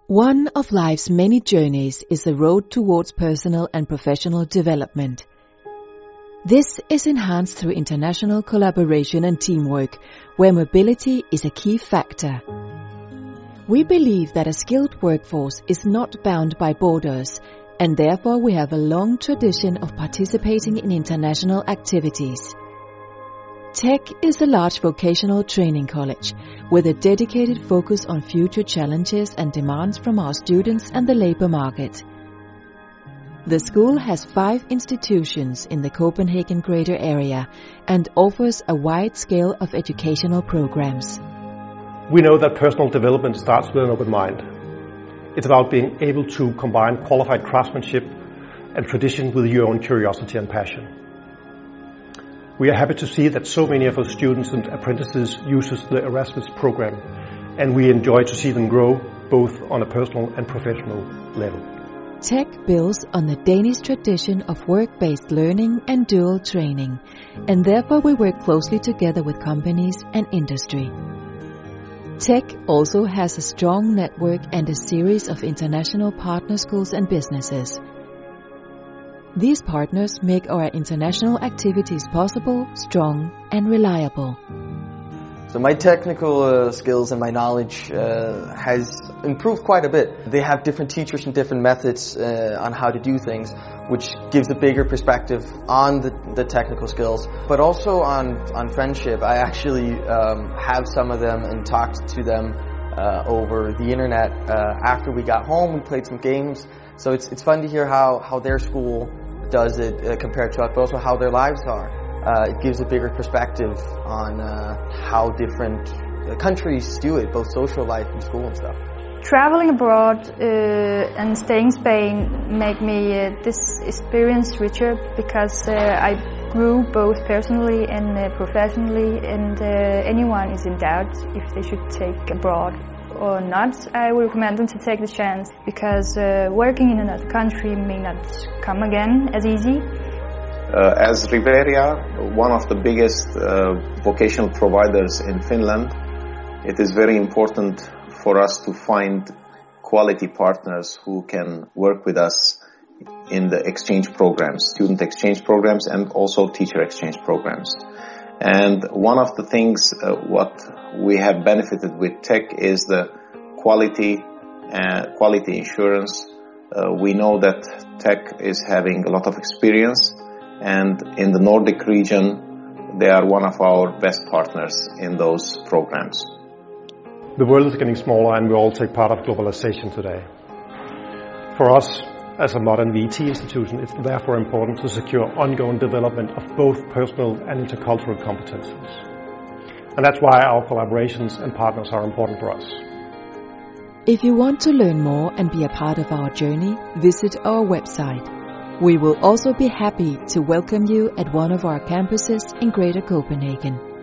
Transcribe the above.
One of life's many journeys is the road towards personal and professional development. This is enhanced through international collaboration and teamwork, where mobility is a key factor. We believe that a skilled workforce is not bound by borders, and therefore we have a long tradition of participating in international activities. Tech is a large vocational training college with a dedicated focus on future challenges and demands from our students and the labor market. The school has 5 institutions in the Copenhagen greater area and offers a wide scale of educational programs. We know that personal development starts with an open mind. It's about being able to combine qualified craftsmanship and tradition with your own curiosity and passion. We are happy to see that so many of our students and apprentices uses the Erasmus program, and we enjoy to see them grow both on a personal and professional level. Tech builds on the Danish tradition of work-based learning and dual training, and therefore we work closely together with companies and industry. Tech also has a strong network and a series of international partner schools and businesses. These partners make our international activities possible, strong and reliable. So my technical skills and my knowledge has improved quite a bit. They have different teachers and different methods on how to do things, which gives a bigger perspective on the technical skills, but also on friendship. I actually have some of them and talked to them over the internet. After we got home, we played some games. So it's fun to hear how their school does it compared to us, but also how their lives are. It gives a bigger perspective on how different countries do it, both social life and school and stuff. Traveling abroad and staying in Spain make me this experience richer because I grew both personally and professionally, and anyone is in doubt if they should take abroad or not, I would recommend them to take the chance because working in another country may not come again as easy. As Riveria, one of the biggest vocational providers in Finland, it is very important for us to find quality partners who can work with us in the exchange programs, student exchange programs and also teacher exchange programs. And one of the things what we have benefited with Tech is the quality insurance. We know that Tech is having a lot of experience, and in the Nordic region they are one of our best partners in those programs. The world is getting smaller and we all take part of globalization today. For us, as a modern VT institution, it's therefore important to secure ongoing development of both personal and intercultural competences. And that's why our collaborations and partners are important for us. If you want to learn more and be a part of our journey, visit our website. We will also be happy to welcome you at one of our campuses in Greater Copenhagen.